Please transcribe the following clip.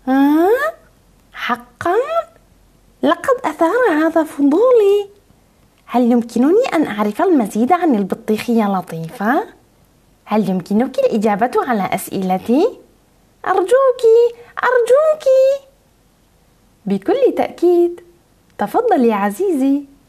حقا؟ لقد أثار هذا فضولي. هل يمكنني أن أعرف المزيد عن البطيخية لطيفة؟ هل يمكنك الإجابة على أسئلتي؟ أرجوك أرجوك. بكل تأكيد. تفضل يا عزيزي.